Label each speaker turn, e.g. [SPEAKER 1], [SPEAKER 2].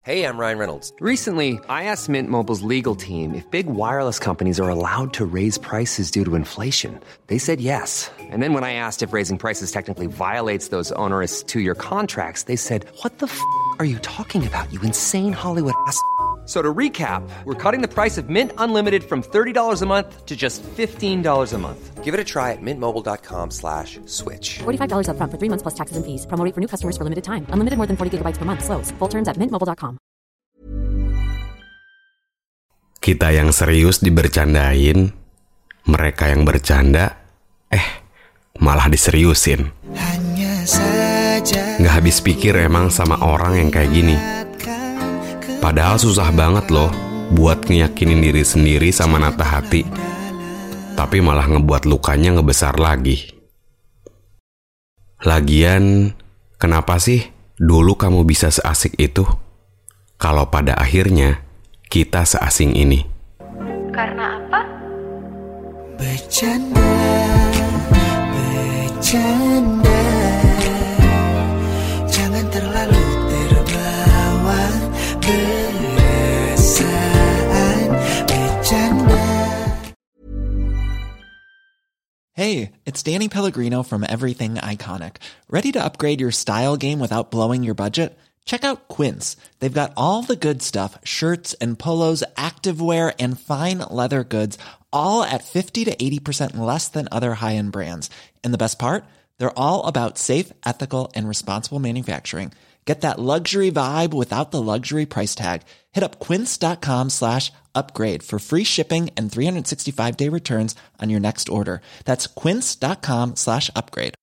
[SPEAKER 1] Hey, I'm Ryan Reynolds.
[SPEAKER 2] Recently, I asked Mint Mobile's legal team if big wireless companies are allowed to raise prices due to inflation. They said yes. And then when I asked if raising prices technically violates those onerous two-year contracts, they said, "What the are you talking about, you insane Hollywood ass?" So to recap, we're cutting the price of Mint Unlimited from $30 a month to just $15 a month.
[SPEAKER 1] Give it a try at mintmobile.com/switch.
[SPEAKER 3] $45 up front for 3 months plus taxes and fees. Promo rate for new customers for limited time. Unlimited more than 40 gigabytes per month. Slows full terms at mintmobile.com.
[SPEAKER 4] Kita yang serius dibercandain, mereka yang bercanda, malah diseriusin. Nggak habis pikir emang sama orang yang kayak gini. Padahal susah banget loh buat ngeyakinin diri sendiri sama nata hati. Tapi malah ngebuat lukanya ngebesar lagi. Lagian, kenapa sih dulu kamu bisa seasik itu? Kalau pada akhirnya kita seasing ini.
[SPEAKER 5] Karena apa?
[SPEAKER 6] Bercanda, jangan terlalu terbawa perasaan bercanda.
[SPEAKER 7] Hey, it's Danny Pellegrino from Everything Iconic. Ready to upgrade your style game without blowing your budget? Check out Quince. They've got all the good stuff, shirts and polos, activewear, and fine leather goods, all at 50 to 80% less than other high-end brands. And the best part? They're all about safe, ethical, and responsible manufacturing. Get that luxury vibe without the luxury price tag. Hit up quince.com/upgrade for free shipping and 365-day returns on your next order. That's quince.com/upgrade.